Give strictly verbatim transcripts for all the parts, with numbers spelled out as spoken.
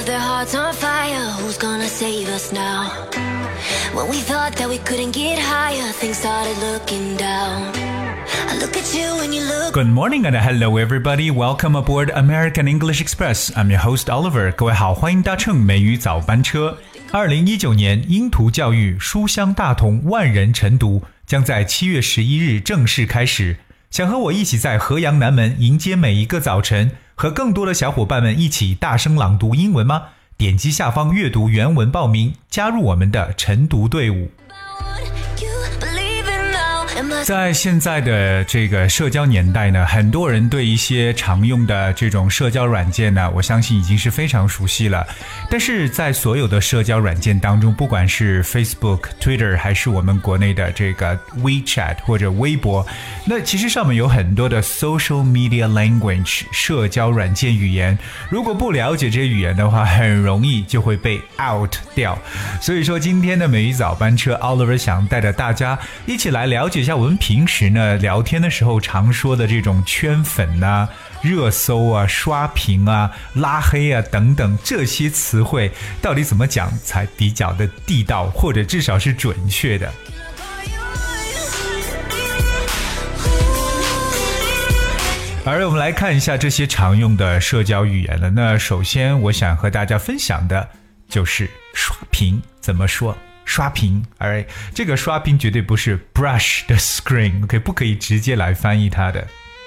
their hearts on fire. Who's gonna save us now? When we thought that we couldn't get higher, things started looking down. I look at you and you look. Good morning and hello everybody. Welcome aboard American English Express. I'm your host Oliver. 各位好，欢迎搭乘美语早班车。二零一九年英图教育书香大同万人晨读将在七月十一日正式开始。想和我一起在河阳南门迎接每一个早晨，和更多的小伙伴们一起大声朗读英文吗？点击下方阅读原文报名，加入我们的晨读队伍。在现在的这个社交年代呢，很多人对一些常用的这种社交软件呢，我相信已经是非常熟悉了。但是在所有的社交软件当中，不管是 Facebook、Twitter 还是我们国内的这个 WeChat 或者微博，那其实上面有很多的 social media language 社交软件语言，如果不了解这些语言的话，很容易就会被 out 掉。所以说今天的美语早班车 Oliver 想带着大家一起来了解一下我们平时呢聊天的时候常说的这种圈粉啊、热搜啊、刷屏啊、拉黑啊等等这些词汇到底怎么讲才比较的地道，或者至少是准确的。而我们来看一下这些常用的社交语言了。那首先我想和大家分享的就是刷屏怎么说。刷屏，而这个刷屏绝对不是 brush the screen， OK， 不可以直接来翻译它的。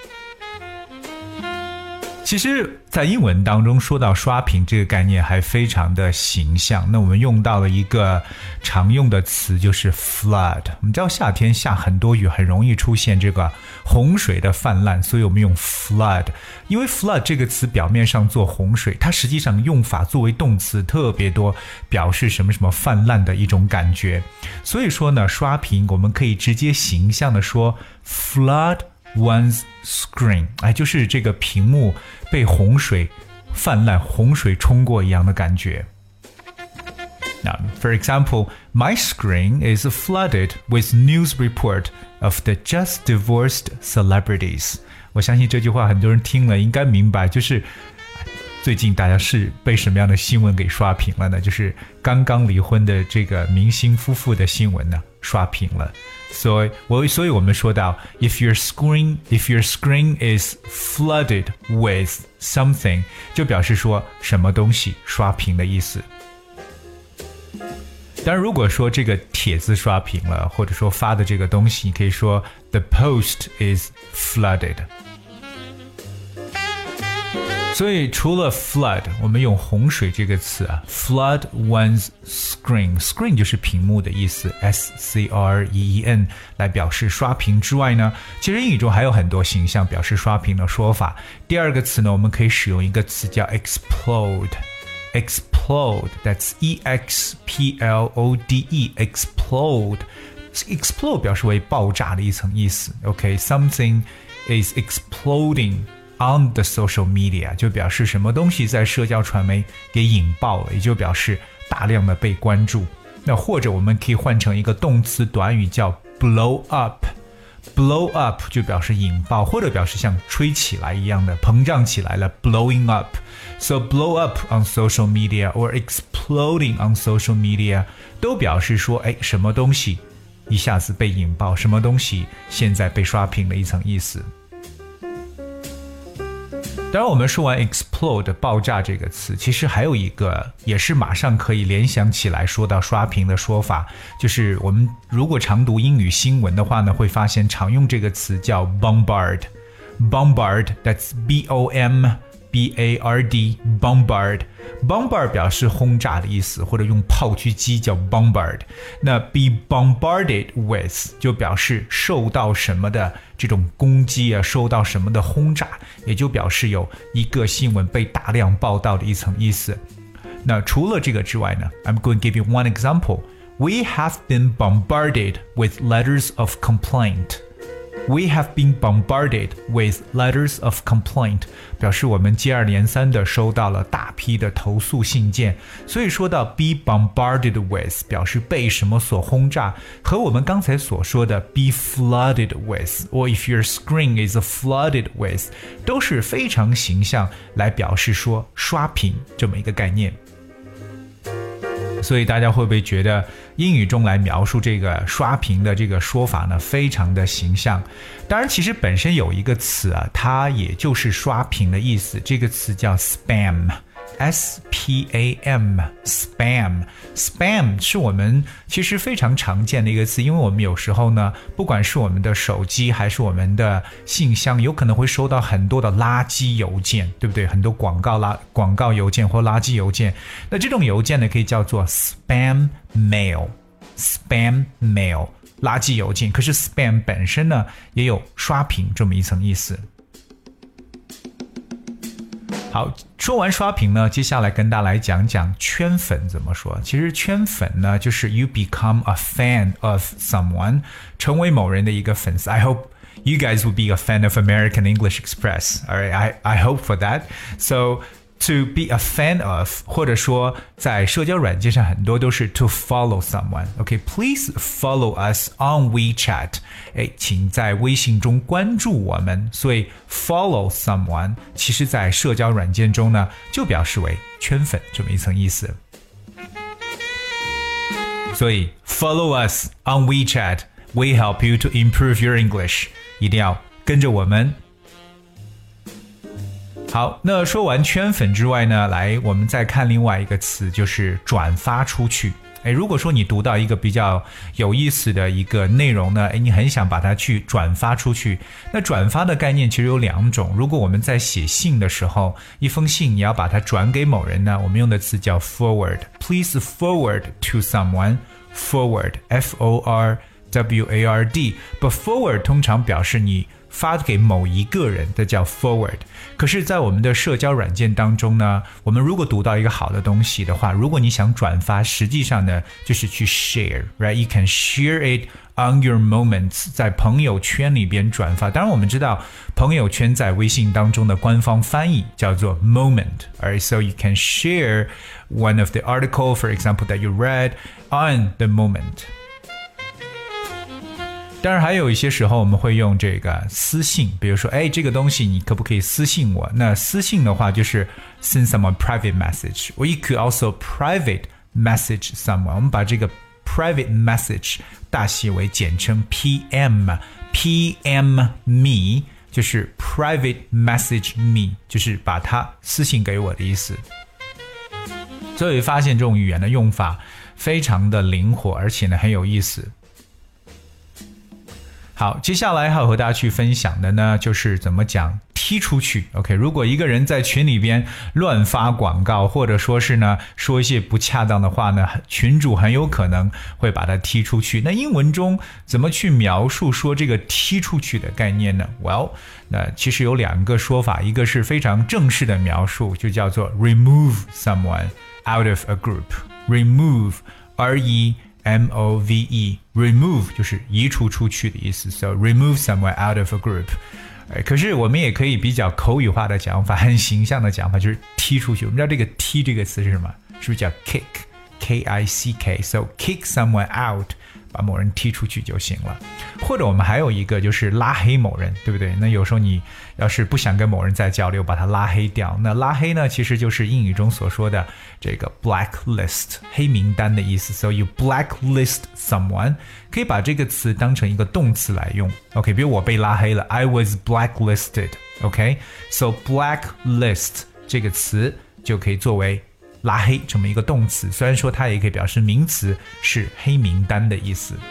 其实在英文当中说到刷屏这个概念还非常的形象，那我们用到了一个常用的词就是 flood。 我们知道夏天下很多雨，很容易出现这个洪水的泛滥，所以我们用 flood。 因为 flood 这个词表面上做洪水，它实际上用法作为动词特别多，表示什么什么泛滥的一种感觉。所以说呢，刷屏我们可以直接形象的说 flood one's screen， 哎，就是这个屏幕被洪水泛滥，洪水冲过一样的感觉。Now, for example, my screen is flooded with news report of the just divorced celebrities. 我相信这句话很多人听了应该明白，就是最近大家是被什么样的新闻给刷屏了呢？就是刚刚离婚的这个明星夫妇的新闻呢，刷屏了。所以我所以我们说到 if your screen if your screen is flooded with something， 就表示说什么东西刷屏的意思。当然如果说这个帖子刷屏了，或者说发的这个东西，你可以说 the post is flooded。所以除了 flood， 我们用洪水这个词啊 flood one's screen， screen 就是屏幕的意思 S C R E E N 来表示刷屏之外呢，其实英语中还有很多形象表示刷屏的说法。第二个词呢，我们可以使用一个词叫 explode explode that's E X P L O D E explode explode 表示为爆炸的一层意思。 OK something is exploding on the social media 就表示什么东西在社交传媒给引爆了，也就表示大量的被关注。那或者我们可以换成一个动词短语叫 blow up blow up 就表示引爆，或者表示像吹起来一样的膨胀起来了 blowing up。 So blow up on social media or exploding on social media 都表示说哎，什么东西一下子被引爆，什么东西现在被刷屏的一层意思。当然我们说完 explode 爆炸这个词，其实还有一个也是马上可以联想起来说到刷屏的说法，就是我们如果常读英语新闻的话呢，会发现常用这个词叫 bombard bombard that's B O M B A R D bombard bombard 表示轰炸的意思，或者用炮击机叫 bombard。 那 be bombarded with 就表示受到什么的这种攻击啊，受到什么的轰炸，也就表示有一个新闻被大量报道的一层意思。那除了这个之外呢， I'm going to give you one example. We have been bombarded with letters of complaint.We have been bombarded with letters of complaint 表示我们接二连三地收到了大批的投诉信件。所以说到 be bombarded with 表示被什么所轰炸，和我们刚才所说的 be flooded with or if your screen is flooded with 都是非常形象来表示说刷屏这么一个概念。 所以大家会不会觉得英语中来描述这个刷屏的这个说法呢，非常的形象？当然，其实本身有一个词啊，它也就是刷屏的意思，这个词叫 spam。S P A M spam spam 是我们其实非常常见的一个词，因为我们有时候呢，不管是我们的手机还是我们的信箱，有可能会收到很多的垃圾邮件，对不对？很多广告垃广告邮件或垃圾邮件，那这种邮件呢，可以叫做 spam mail spam mail 垃圾邮件。可是 spam 本身呢，也有刷屏这么一层意思。好，说完刷屏呢，接下来跟大家来讲讲圈粉怎么说。其实圈粉呢，就是 you become a fan of someone， 成为某人的一个粉丝。I hope you guys will be a fan of American English Express. All right, I I hope for that. So to be a fan of， 或者说在社交软件上很多都是 to follow someone。OK, please follow us on WeChat。哎，请在微信中关注我们。所以 follow someone， 其实在社交软件中呢，就表示为圈粉这么一层意思。所以 follow us on WeChat, we help you to improve your English。一定要跟着我们。好，那说完圈粉之外呢，来我们再看另外一个词，就是转发出去。诶，如果说你读到一个比较有意思的一个内容呢，诶，你很想把它去转发出去。那转发的概念其实有两种。如果我们在写信的时候，一封信你要把它转给某人呢，我们用的词叫 forward。 Please forward to someone. Forward, F O R W A R D. But forward 通常表示你发给某一个人，这叫 forward。 可是在我们的社交软件当中呢，我们如果读到一个好的东西的话，如果你想转发，实际上呢就是去 share, right? You can share it on your moments， 在朋友圈里边转发。当然我们知道朋友圈在微信当中的官方翻译叫做 moment, alright? So you can share one of the article, for example, that you read on the moment。当然还有一些时候我们会用这个私信，比如说哎，这个东西你可不可以私信我？那私信的话就是 send someone private message, or you could also private message someone。 我们把这个 private message 大写为简称 P M P M me， 就是 private message me， 就是把它私信给我的意思。所以发现这种语言的用法非常的灵活，而且呢很有意思。好，接下来还有和大家去分享的呢，就是怎么讲踢出去。 OK， 如果一个人在群里边乱发广告，或者说是呢说一些不恰当的话呢，群主很有可能会把他踢出去。那英文中怎么去描述说这个踢出去的概念呢？ Well， 那其实有两个说法，一个是非常正式的描述，就叫做 remove someone out of a group。 Remove, R E M O V E, remove 就是移除出去的意思。 So remove someone out of a group。 可是我们也可以比较口语化的讲法，很形象的讲法，就是踢出去。我们知道这个踢这个词是什么？是不是叫 kick, K I C K? So kick someone out， 把某人踢出去就行了。或者我们还有一个就是拉黑某人，对不对？那有时候你要是不想跟某人再交流，把他拉黑掉。那拉黑呢，其实就是英语中所说的这个 blacklist， 黑名单的意思。 So you blacklist someone， 可以把这个词当成一个动词来用。 OK， 比如我被拉黑了， I was blacklisted。 OK， So blacklist 这个词就可以作为拉黑这么一个动词，虽然说它也可以表示名词，是黑名单的意思。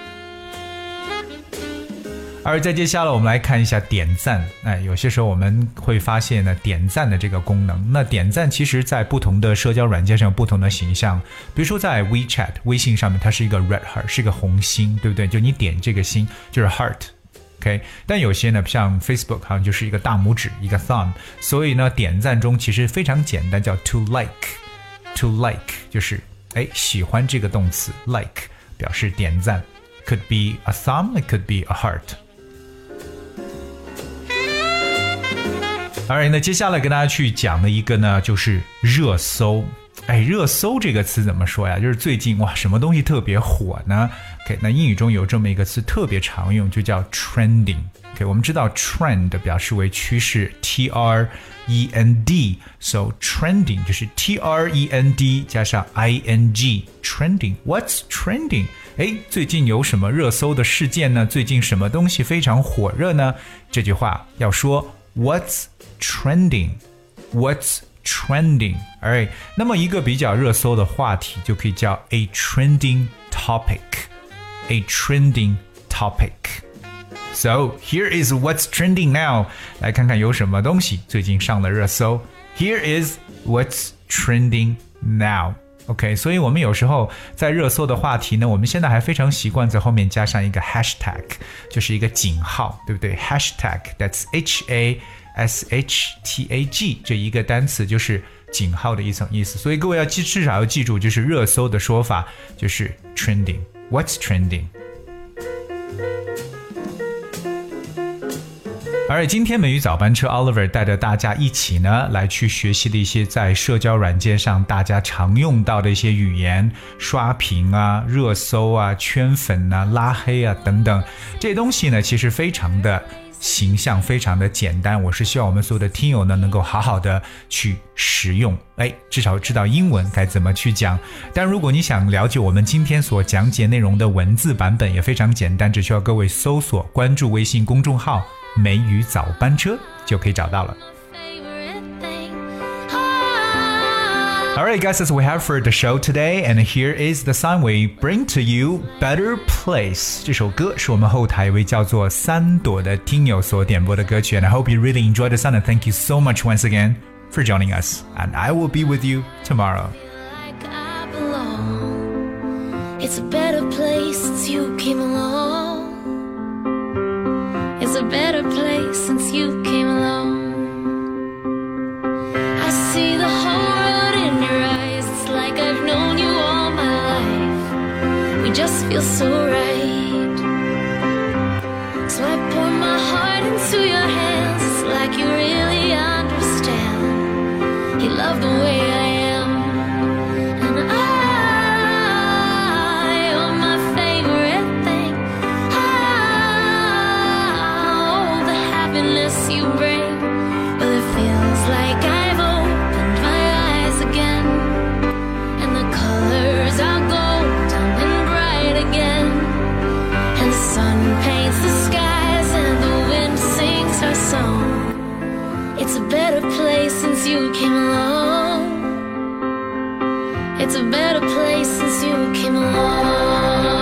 而再接下来我们来看一下点赞。哎，有些时候我们会发现呢，点赞的这个功能。那点赞其实在不同的社交软件上有不同的形象。比如说在 WeChat 微信上面，它是一个 red heart， 是一个红心，对不对？就你点这个心就是 heart。OK， 但有些呢，像 Facebook 好像就是一个大拇指，一个 thumb。所以呢，点赞中其实非常简单，叫 to like。To like 就是哎喜欢这个动词 like 表示点赞。 Could be a thumb, it could be a heart。 Alright， 那接下来跟大家去讲的一个呢，就是热搜。哎，热搜这个词怎么说呀？就是最近哇，什么东西特别火呢？ OK， 那英语中有这么一个词特别常用，就叫 trending。OK， 我们知道 trend 表示为趋势 ，T R E N D，so trending 就是 T R E N D 加上 I N G，trending。What's trending？ 哎，最近有什么热搜的事件呢？最近什么东西非常火热呢？这句话要说 What's trending？What's trending？ Alright， 那么一个比较热搜的话题就可以叫 a trending topic。A trending topic。So here is what's trending now. 来看看有什么东西最近上了热搜。Here is what's trending now. OK， 所以我们有时候在热搜的话题呢，我们现在还非常习惯在后面加上一个 hashtag， 就是一个井号，对不对？ Hashtag that's H A S H T A G 这一个单词就是井号的一层意思。所以各位要记，至少要记住，就是热搜的说法就是 trending。What's trending？而今天美语早班车 Oliver 带着大家一起呢来去学习的一些在社交软件上大家常用到的一些语言，刷屏啊、热搜啊、圈粉啊、拉黑啊等等，这些东西呢其实非常的形象，非常的简单。我是希望我们所有的听友呢能够好好的去使用，哎，至少知道英文该怎么去讲。但如果你想了解我们今天所讲解内容的文字版本也非常简单，只需要各位搜索关注微信公众号美语早班车就可以找到了。Alright guys, that's what we have for the show today, and here is the song we bring to you, Better Place. 这首歌是我们后台一位叫做三朵的听友所点播的歌曲， and I hope you really enjoyed the song, and thank you so much once again for joining us, and I will be with you tomorrow. It's a better place since you came along. It's a better place since you came along. I see the whole world in your eyes. It's like I've known you all my life. We just feel so right. So I pour my heart into your hands. It's like you really understand. You love the way I am. And I you bring, well it feels like I've opened my eyes again, and the colors are golden and bright again, and the sun paints the skies and the wind sings our song. It's a better place since you came along. It's a better place since you came along.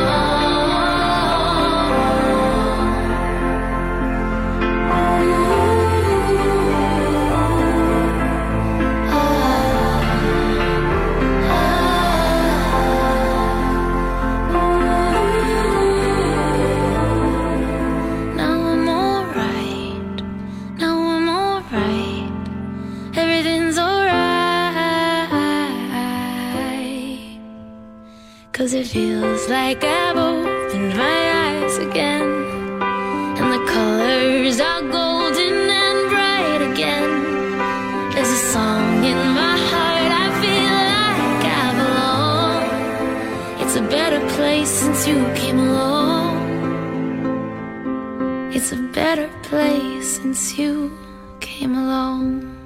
Cause it feels like I've opened my eyes again, and the colors are golden and bright again. There's a song in my heart, I feel like I belong. It's a better place since you came along. It's a better place since you came along.